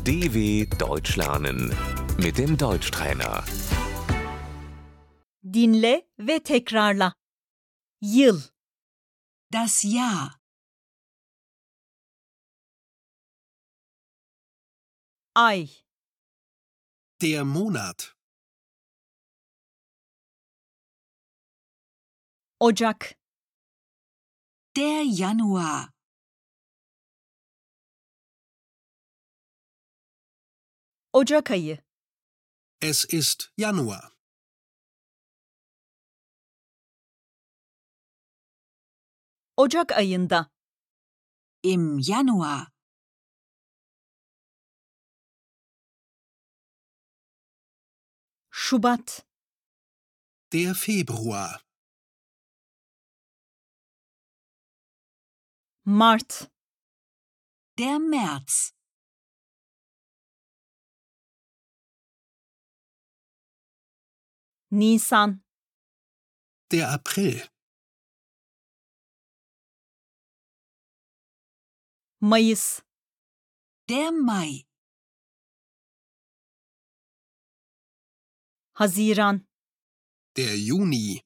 DW Deutsch lernen mit dem Deutschtrainer. Dinle ve tekrarla. Yıl, Das Jahr, ay, Der Monat, Ocak, der Januar, Ocak ayı, es ist Januar. Ocak ayında, im Januar, Şubat, Der Februar, Mart, der März, Nisan, der April, Mayıs, der Mai, Haziran, der Juni,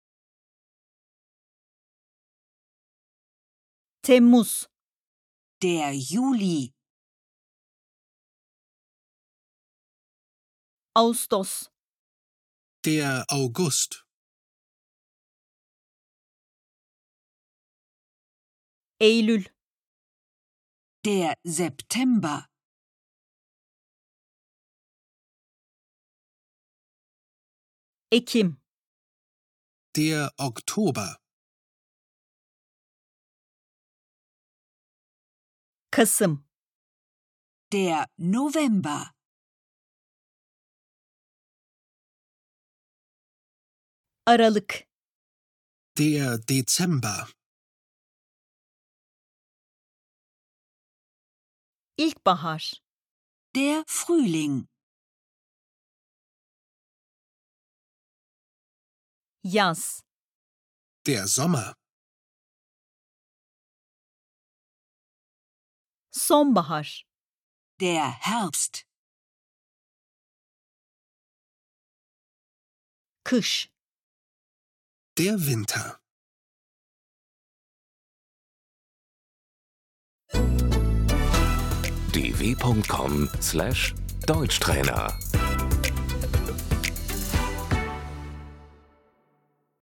Temmuz, der Juli, Ağustos, der August, Eylül, der September, Ekim, der Oktober, Kasım, der November, Aralık, der Dezember, İlkbahar, der Frühling, Yaz, der Sommer, Sonbahar, der Herbst, Kış, der Winter. dw.com/Deutschtrainer